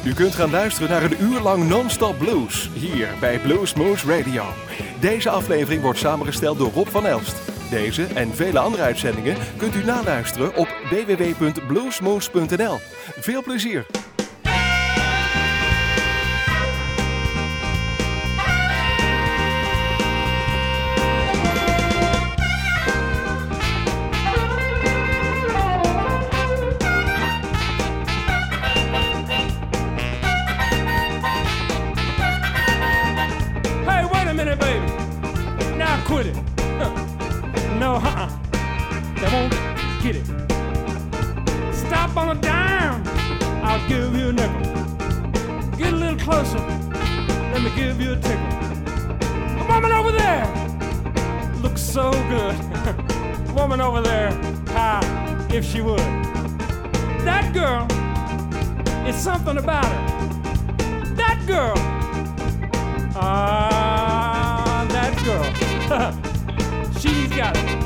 U kunt gaan luisteren naar een uur lang non-stop blues, hier bij Blues Moose Radio. Deze aflevering wordt samengesteld door Rob van Elst. Deze en vele andere uitzendingen kunt u naluisteren op www.bluesmoose.nl. Veel plezier! Quit it. No, they won't get it. Stop on a dime, I'll give you a nickel. Get a little closer, let me give you a tickle. The woman over there looks so good. Woman over there, if she would. That girl, it's something about her. That girl, that girl. She's got it.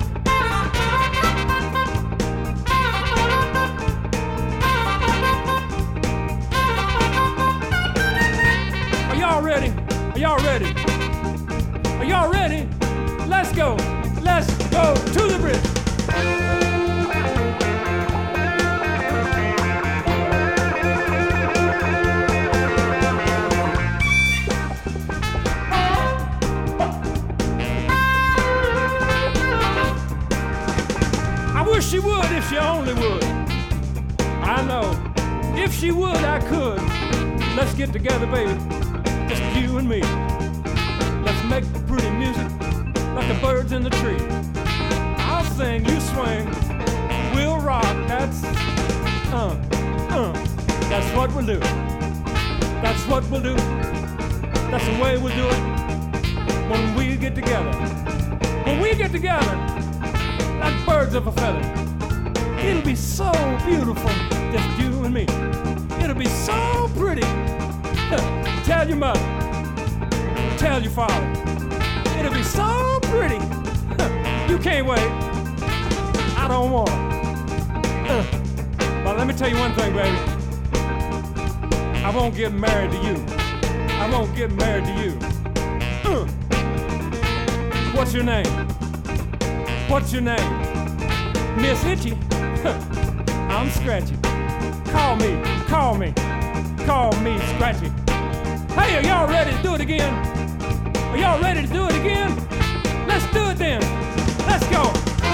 Are y'all ready? Are y'all ready? Are y'all ready? Let's go. Let's go to the bridge. She would if she only would. I know. If she would, I could. Let's get together, baby. Just you and me. Let's make the pretty music like the birds in the tree. I'll sing, you swing. We'll rock. That's what we'll do. That's what we'll do. That's the way we'll do it when we get together. When we get together, like birds of a feather. It'll be so beautiful, just you and me. It'll be so pretty. Tell your mother, tell your father. It'll be so pretty. You can't wait. I don't want it. But let me tell you one thing, baby. I won't get married to you. I won't get married to you. What's your name? What's your name? Miss Itchy? I'm Scratchy. Call me Scratchy. Hey, are y'all ready to do it again? Are y'all ready to do it again? Let's do it then. Let's go.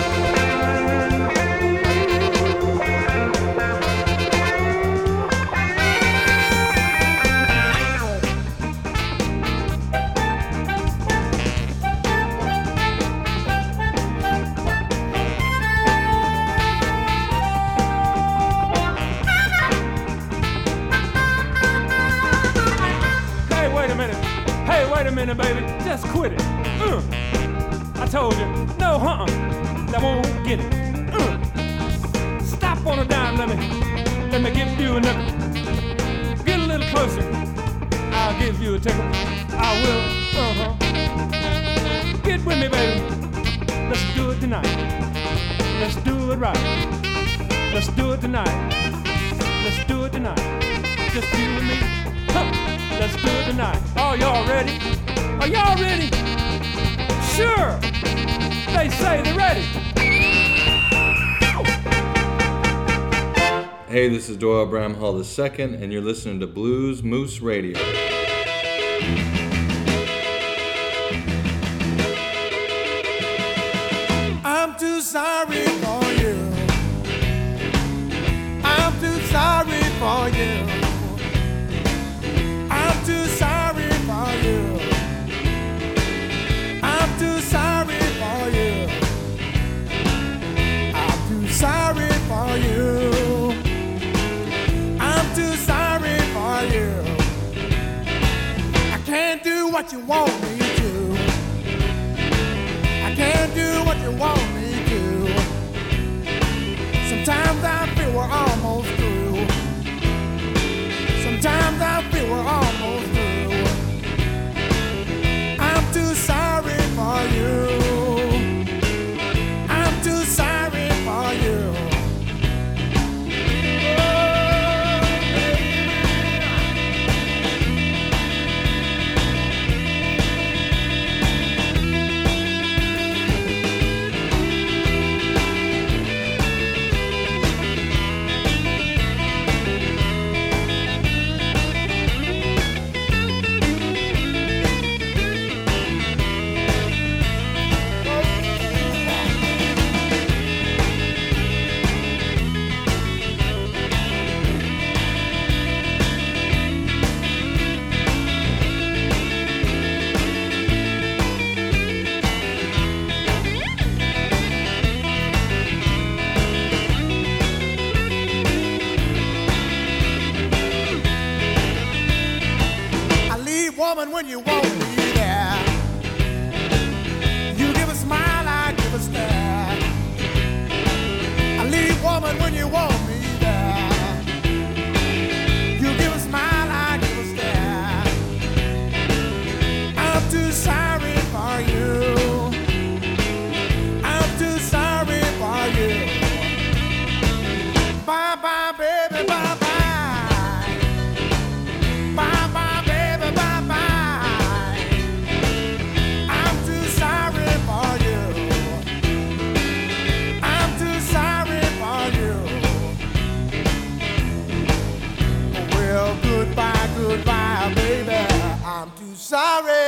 Wait a minute, baby, just quit it. I told you, no, that won't get it. Stop on a dime, let me give you a nickel. Get a little closer, I'll give you a tickle. I will, Get with me, baby. Let's do it tonight. Let's do it right. Let's do it tonight. Let's do it tonight. Just you and me. Let's do it tonight. Are y'all ready? Are y'all ready? Sure. They say they're ready. Hey, this is Doyle Bramhall II, and you're listening to Blues Moose Radio. I'm too sorry for you. I'm too sorry for you. I'm too sorry for you. I'm too sorry for you. I'm too sorry for you. I'm too sorry for you. I can't do what you want me to. I can't do what you want me to. Sometimes I feel we're almost through. Sometimes I feel we're almost through. I'm too sorry for you. I'm too sorry for you. Oh, when you want me there. You give a smile, I give a stare. I leave woman when you want me there. You give a smile, I give a stare. I'm too sorry for you. I'm too sorry for you. Bye bye, baby, bye bye. Bye bye, baby, bye bye. I'm too sorry for you. I'm too sorry for you. Well, goodbye, goodbye, baby. I'm too sorry.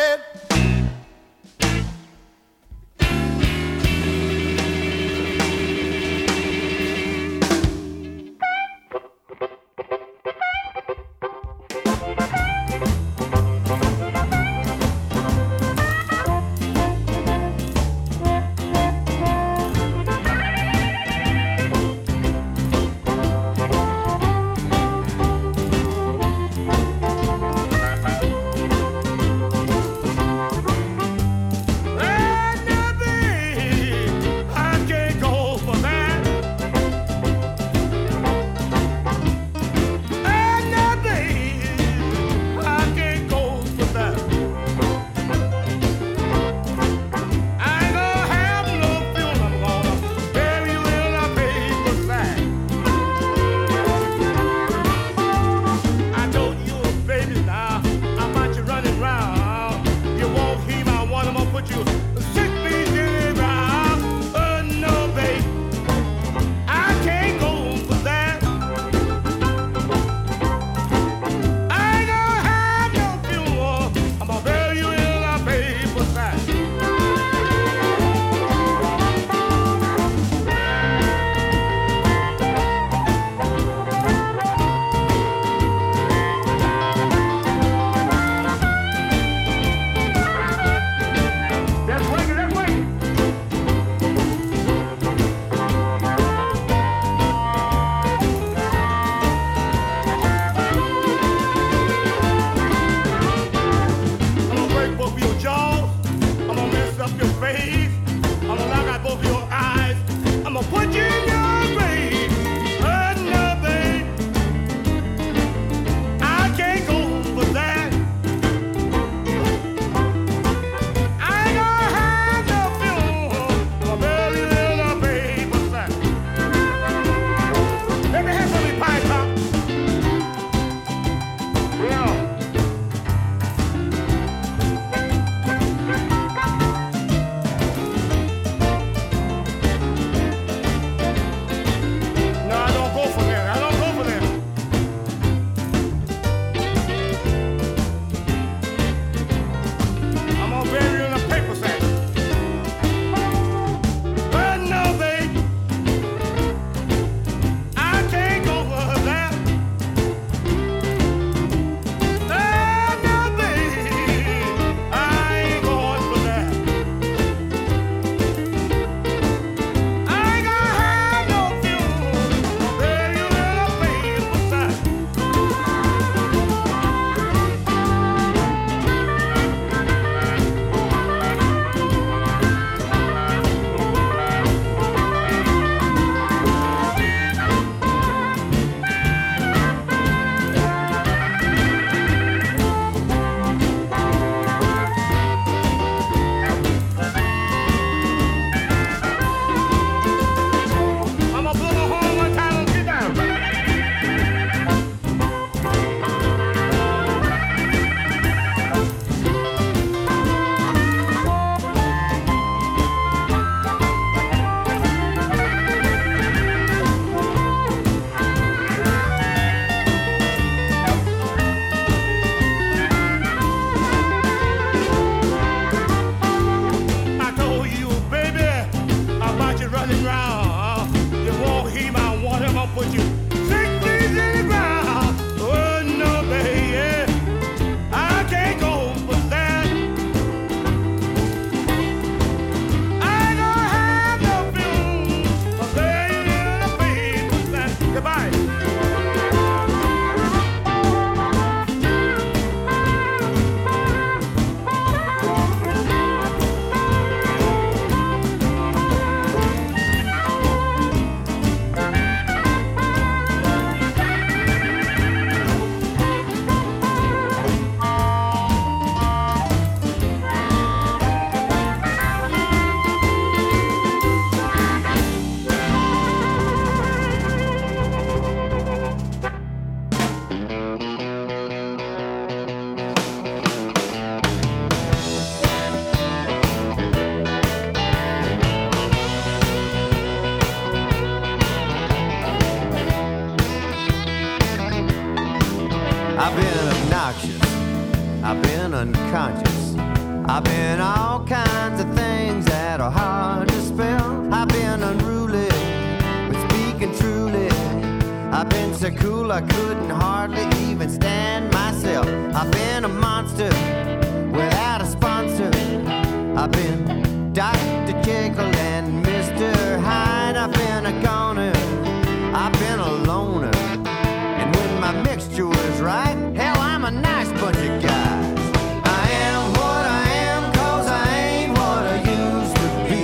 obnoxious. I've been unconscious. I've been all kinds of things that are hard to spell. I've been unruly, but speaking truly, I've been so cool I couldn't hardly even stand myself. I've been a monster without a sponsor. I've been Dr. Jekyll and Mr. Hyde. I've been a goner, I've been a loner, and when my mixture was right, hell, I'm a nice bunch of guys. I am what I am 'cause I ain't what I used to be.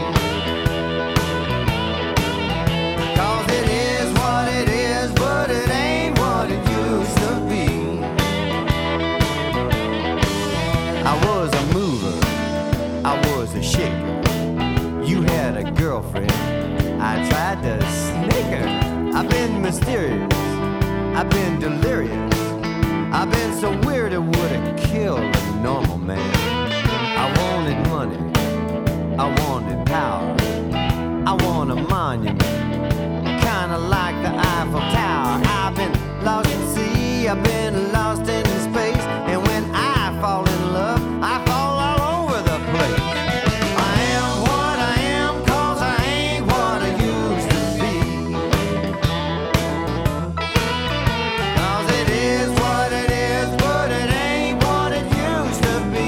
'Cause it is what it is, but it ain't what it used to be. I was a mover, I was a shaker. You had a girlfriend, I tried to snake her. I've been mysterious, I've been delirious, I've been so weird it would've killed a normal man. I wanted money, I wanted power, I want a monument, kinda like the Eiffel Tower. I've been lost at sea, I've been lost in space, and when I fall in love, I fall all over the place. I am what I am 'cause I ain't what I used to be. 'Cause it is what it is, but it ain't what it used to be.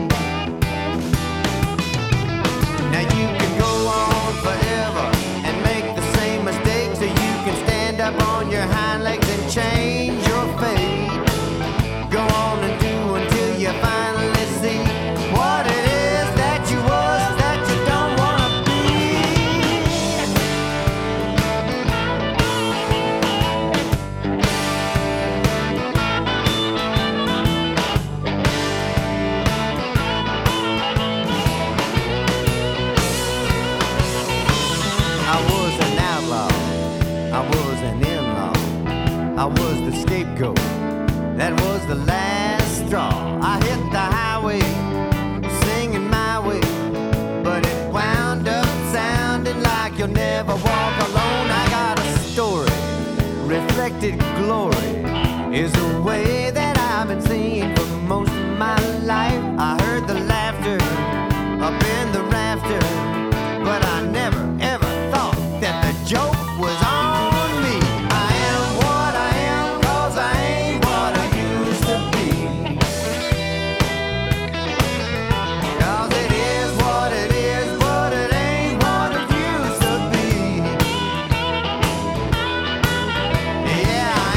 Now you can go on forever and make the same mistakes, or you can stand up on your hind legs and change your fate. Go on and do until you finally see what it is that you was that you don't wanna be. I was an outlaw, I was an in-law, I was the scapegoat, that was the last straw. I hit the highway, singing my way, but it wound up sounding like you'll never walk alone. I got a story, reflected glory is a way that I've been seeing for most of my life. I heard the laughter up in the rafter, but I never ever thought that the joke was on me. I am what I am 'cause I ain't what I used to be. 'Cause it is what it is, but it ain't what it used to be. Yeah, I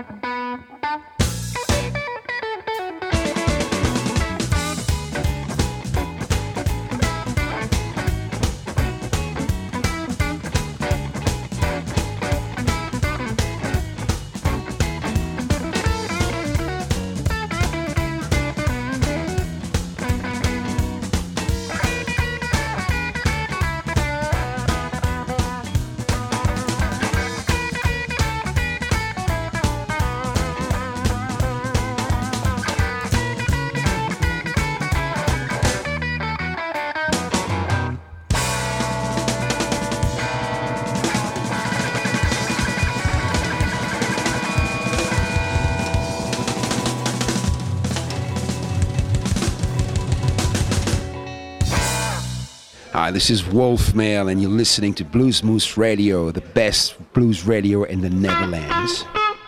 Hi, this is Wolf Mail, and you're listening to Blues Moose Radio, the best blues radio in the Netherlands.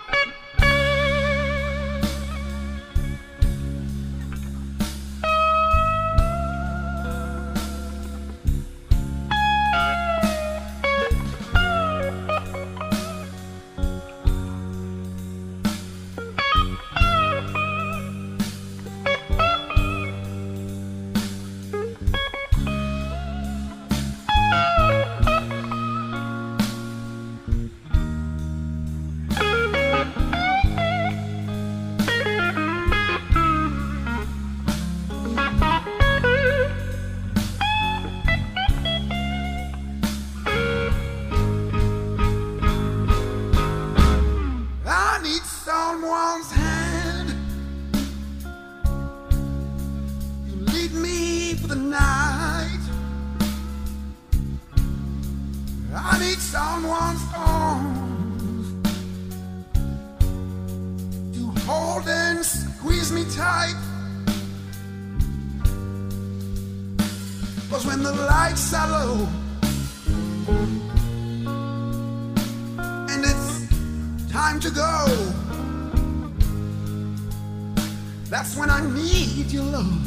That's when I need your love.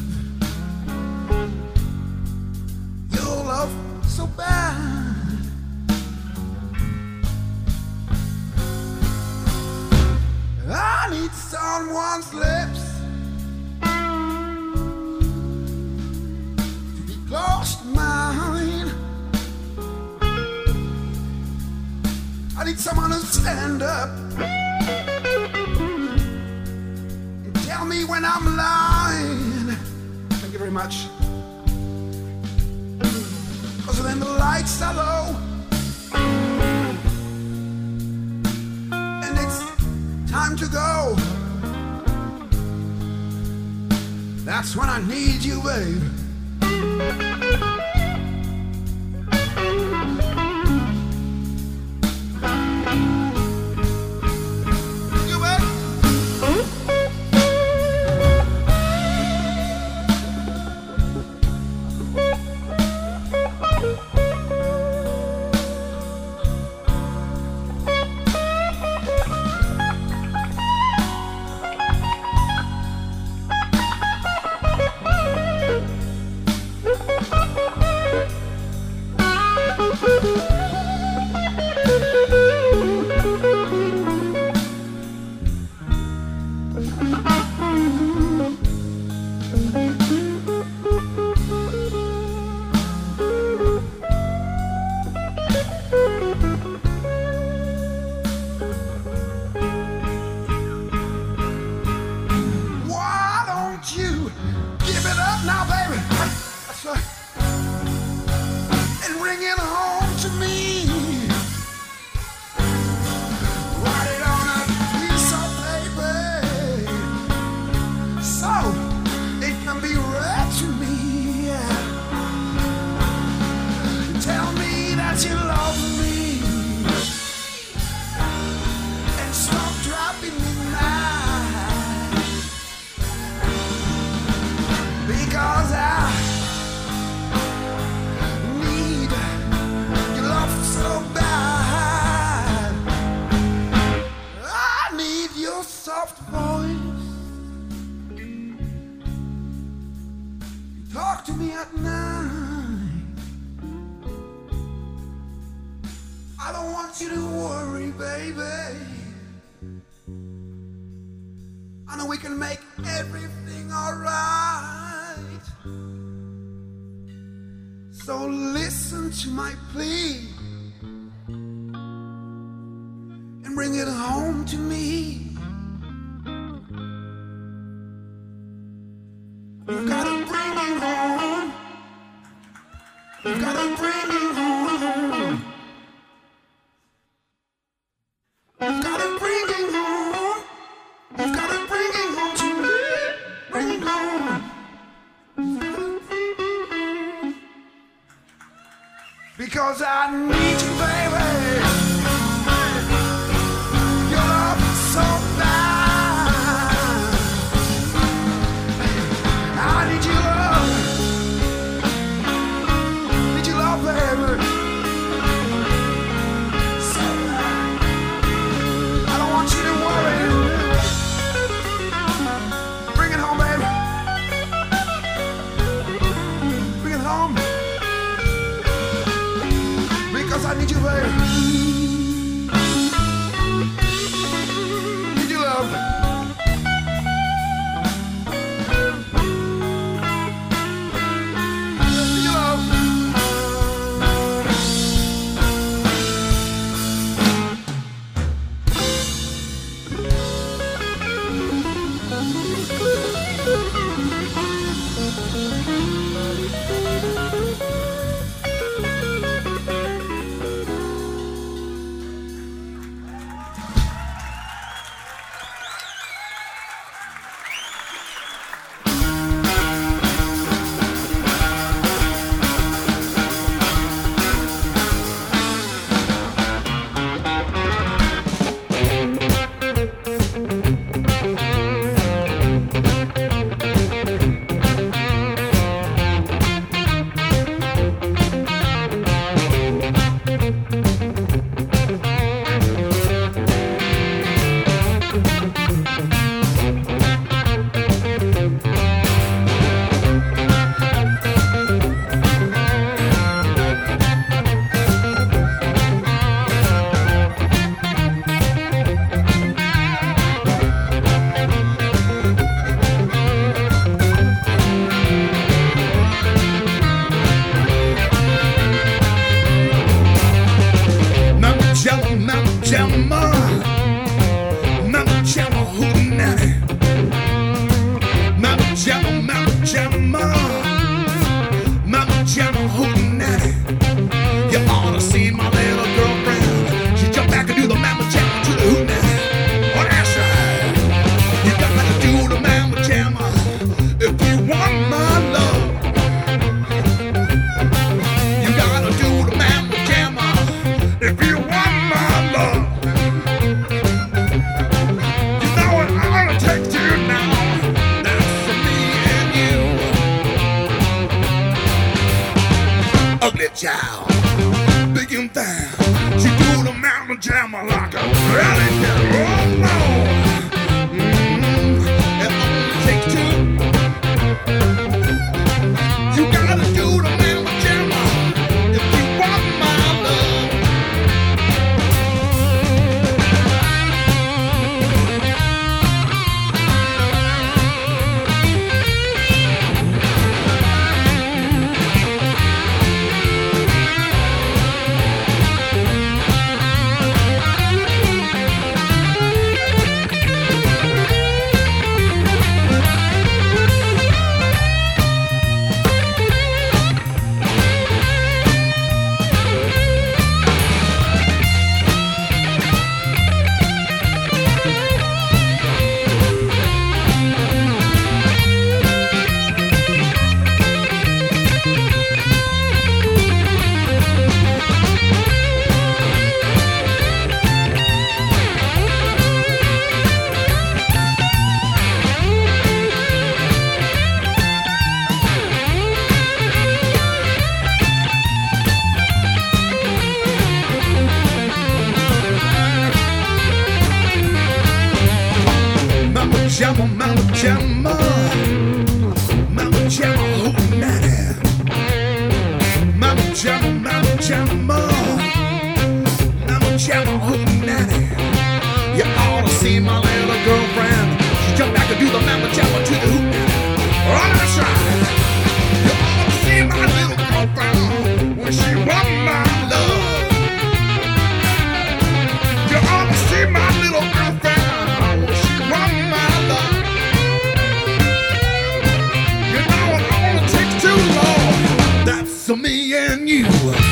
Your love so bad. I need someone's lips to be close to mine. I need someone to stand up and tell me when I'm lying. Thank you very much. Because then the lights are low and it's time to go. That's when I need you, babe. and we can make everything alright. So listen to my plea and bring it home to me. You gotta bring it home. You gotta bring it home. You gotta bring it home. You gotta bring it home to me. Bring it home. Because I need you, baby. Your love is so bad. I need your love. Need your love, baby. So I don't want you to worry. Bring it home, baby. Bring it home. Because I need you, baby. Need your love. Need your love. Child, big and fine. She do the mountain jammer like a rally cat. Oh no, it only takes two. You gotta do the mountain jammer if you want my love. You ought to see my little girlfriend. She jumped back and do the mamma jamma, to the hoop now. All that's right. You ought to see my little girlfriend when she want my love. You ought to see my little girlfriend when she want my love. You know it only takes too long. That's me and you.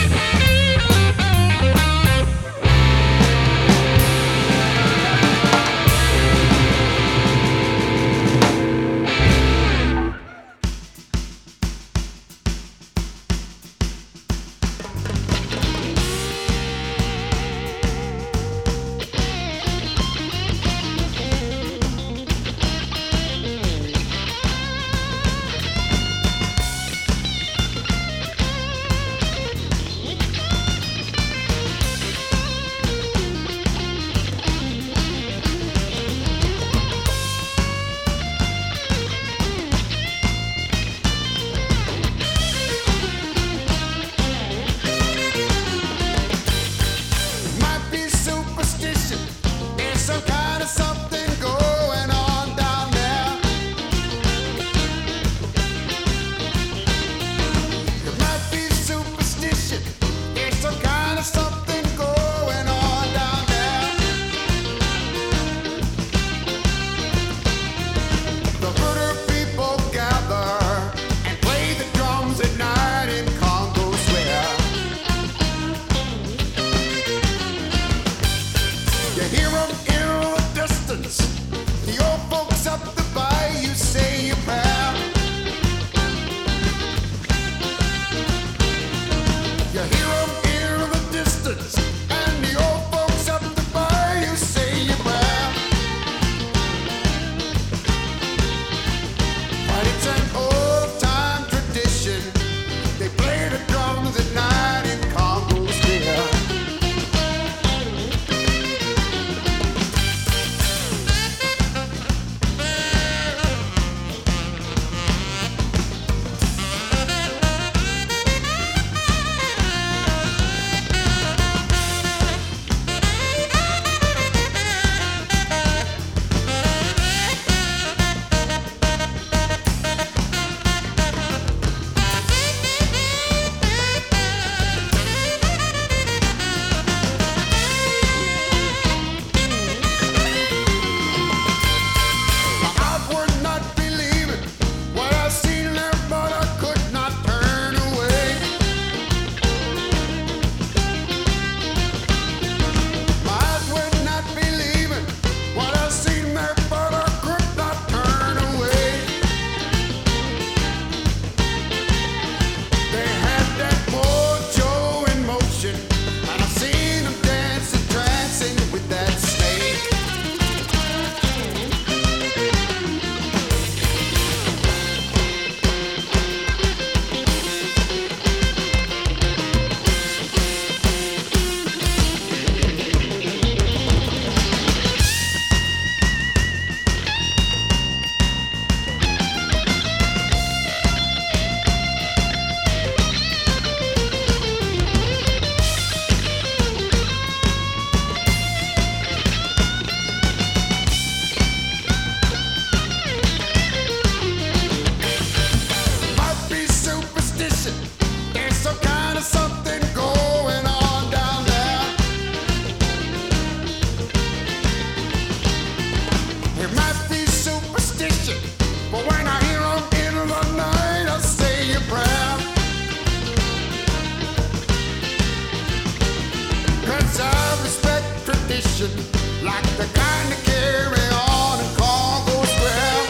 Like the kind of carry on in Congo Square.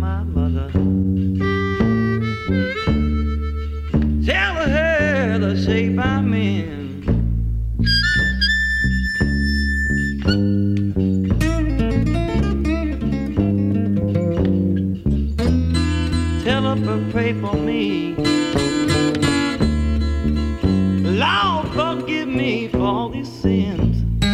my mother. Tell her the shape I'm in. Tell her to pray for me. Lord, forgive me for all these sins.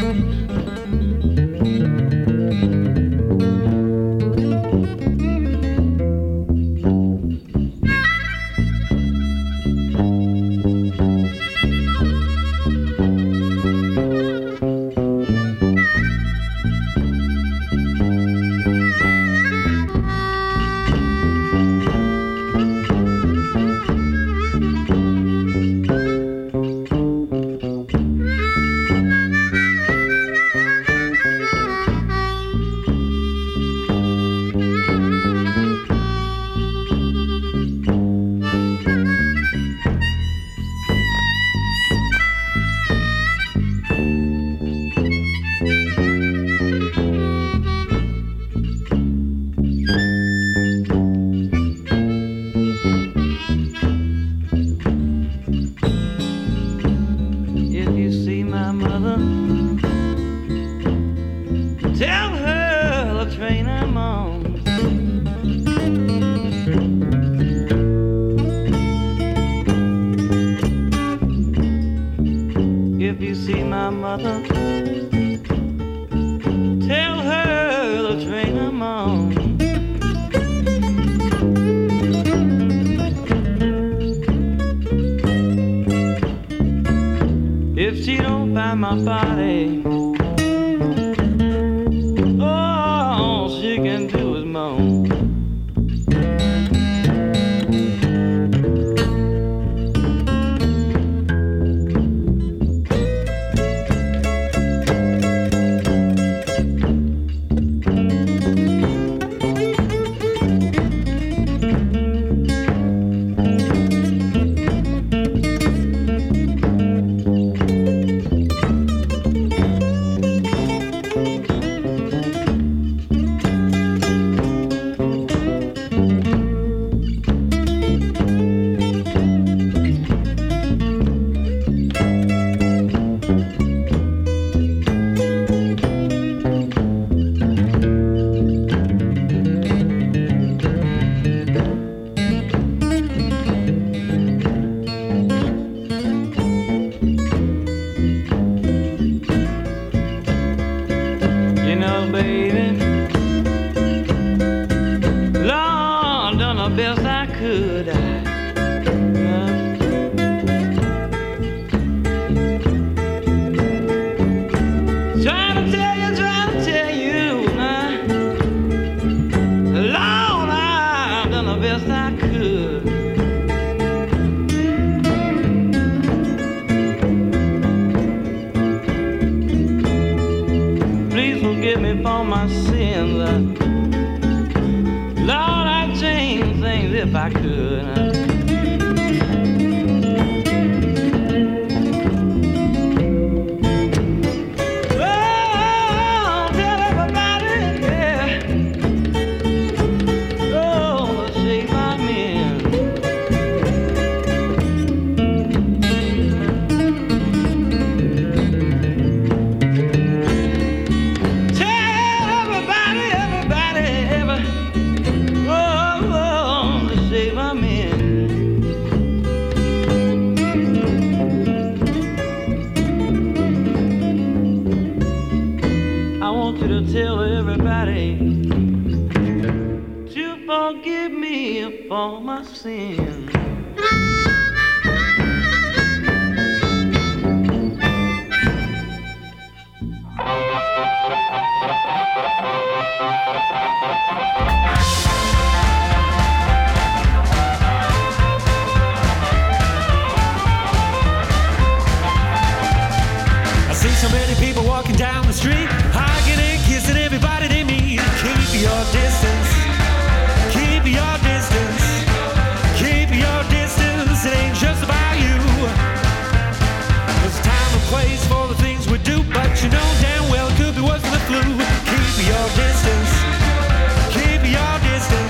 You know damn well it could be worse than the flu. Keep your distance. Keep your distance.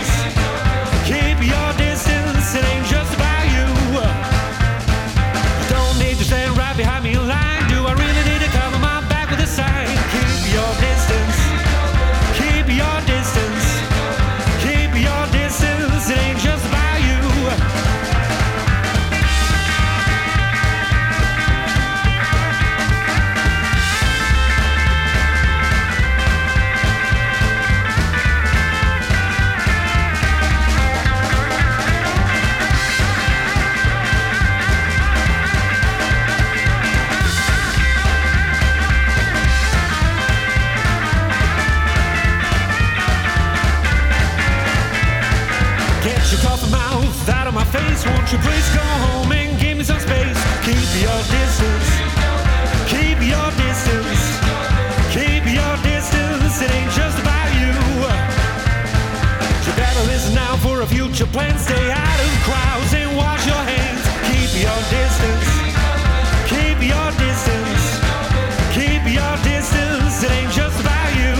Get your coffee mouth out of my face. Won't you please go home and give me some space? Keep your distance. Keep your distance. Keep your distance. It ain't just about you. You better listen now for a future plan. Stay out of crowds and wash your hands. Keep your distance. Keep your distance. Keep your distance. It ain't just about you.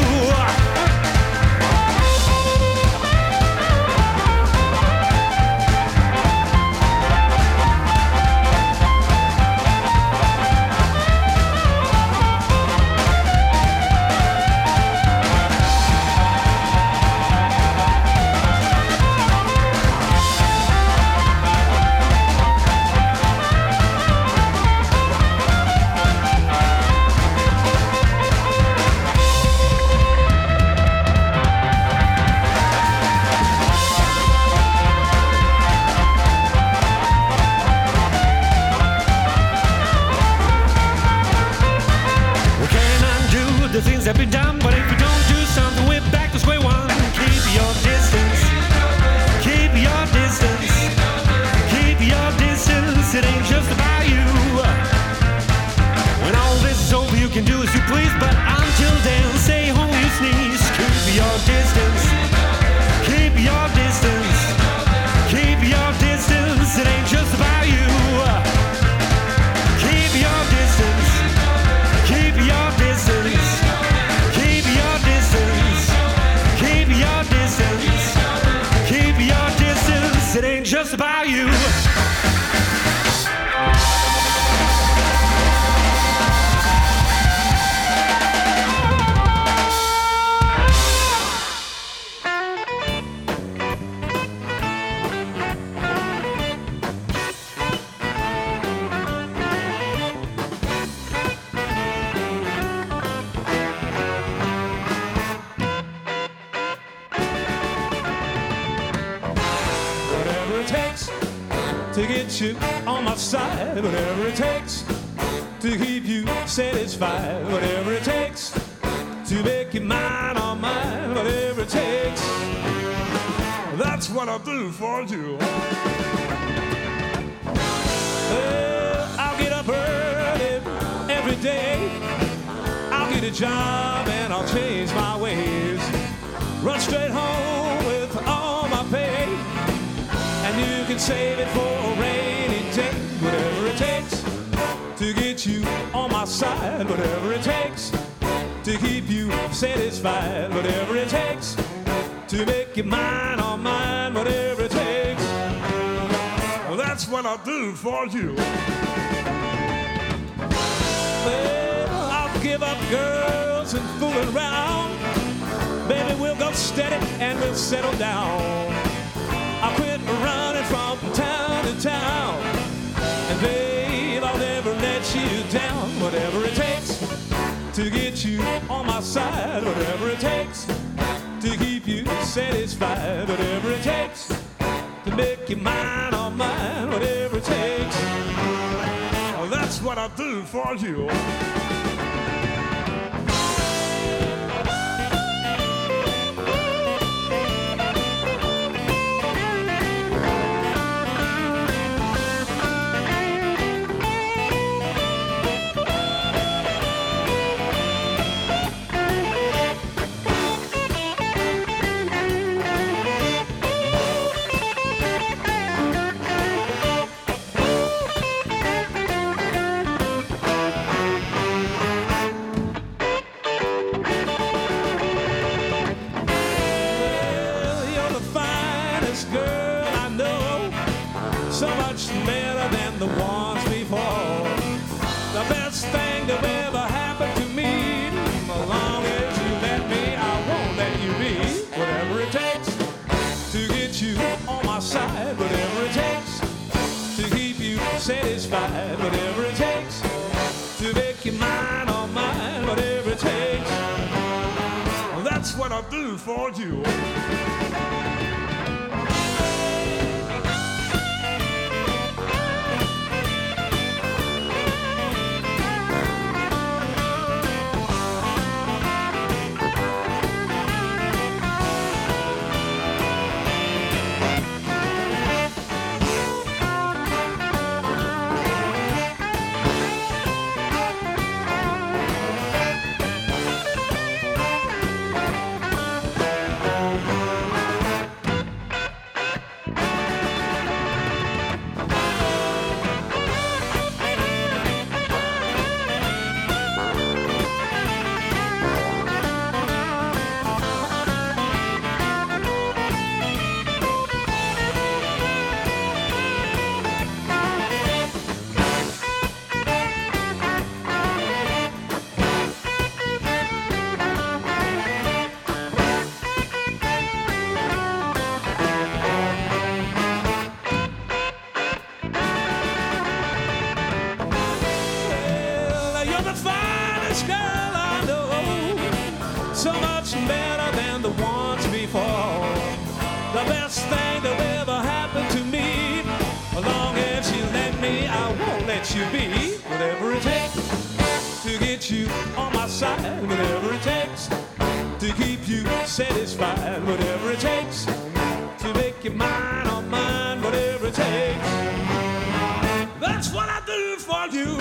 The things that be done, but if you don't do something, we're back to square one. Keep your distance. Keep your distance. Keep your distance. It ain't just about you. When all this is over, you can do as you please, but until then, stay home, you sneeze. Keep your distance. Keep your distance. Keep your distance. It ain't just about you. Keep your distance. Keep your distance. Keep your distance. Keep your distance. Keep your distance. It ain't just about you. To get you on my side, whatever it takes to keep you satisfied, whatever it takes to make you mine or mine, whatever it takes. That's what I'll do for you. I'll get up early every day. I'll get a job and I'll change my ways. Run straight home with all my pay. And you can save it for a rainy day. Whatever it takes to get you on my side. Whatever it takes to keep you satisfied. Whatever it takes to make you mine or mine. Whatever it takes. Well, that's what I'll do for you. Well, I'll give up girls and fooling around. Baby, we'll go steady and we'll settle down. I'll quit running from town to town. And babe, I'll never let you down. Whatever it takes to get you on my side. Whatever it takes to keep you satisfied. Whatever it takes to make you mine or mine. Whatever it takes. Well, that's what I'll do for you. The ones before. The best thing that ever happened to me. As long as you let me, I won't let you be. Whatever it takes to get you on my side. Whatever it takes to keep you satisfied. Whatever it takes to make you mine or mine. Whatever it takes. Well, that's what I'll do for you. best thing that ever happened to me. As long as you let me, I won't let you be. Whatever it takes to get you on my side, whatever it takes to keep you satisfied, whatever it takes to make you mine or mine, whatever it takes. That's what I do for you.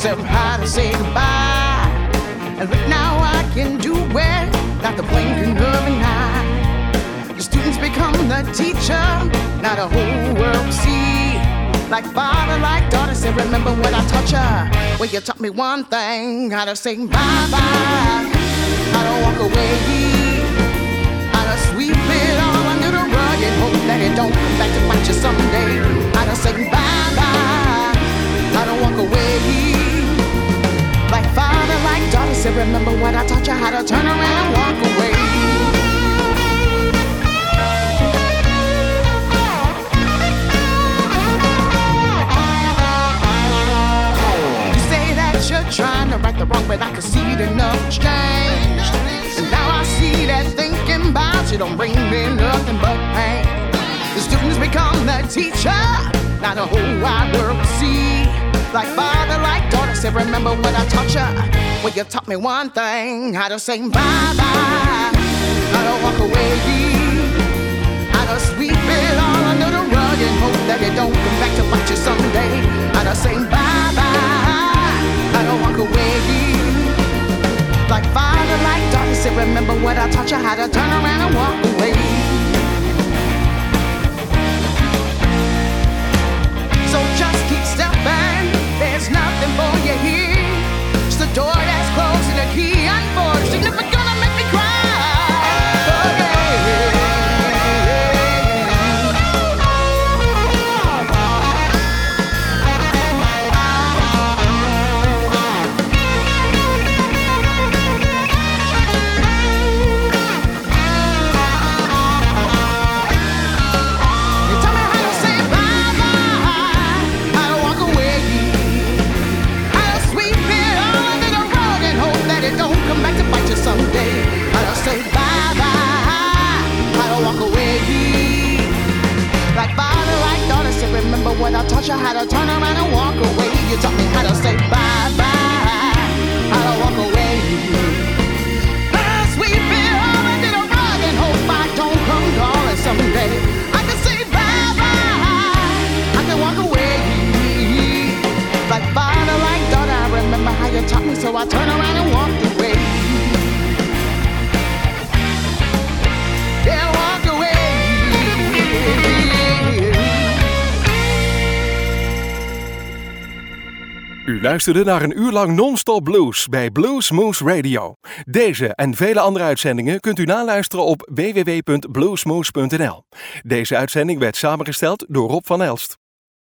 myself how to say goodbye. And right now I can do it, not the blinking of an eye. The students become the teacher, now the whole world see. Like father, like daughter, say remember when I taught ya. Well, you taught me one thing, how to say bye-bye, how to walk away, how to sweep it all under the rug and hope that it don't come back to bite you someday. How to say bye-bye, how to walk away. Like father, like daughter, say remember what I taught you, how to turn around and walk away. You say that you're trying to right the wrong, but I can see that nothing's changed. And now I see that thinking about you don't bring me nothing but pain. The students become the teacher, now the whole wide world will see. Like father, like daughter, say remember what I taught ya. Well, you taught me one thing, how to say bye-bye, how to walk away, how to sweep it all under the rug and hope that it don't come back to bite you someday. How to say bye-bye, how to walk away. Like father, like daughter, say remember what I taught you, how to turn around and walk away. So just keep stepping, there's nothing for you here. It's the door that's closed and the key unforced. You're never gonna make me cry. Oh, yeah. You tell me how to say bye-bye, how to walk away, how to sweep it all under the rug and hope that it don't come back to bite you someday. How to say bye-bye, how to walk away. Like father, like daughter, say remember what I taught you, how to turn around and walk away. You taught me how to say bye-bye, how to walk away. How to sweep it all under the rug and hope I don't come calling someday. I can say bye-bye, I can walk away. Like father, like daughter, I remember how you taught me, so I turn around and walk away. Yeah, walk away. U luisterde naar een uur lang non-stop blues bij Blues Moose Radio. Deze en vele andere uitzendingen kunt u naluisteren op www.bluesmoose.nl. Deze uitzending werd samengesteld door Rob van Elst.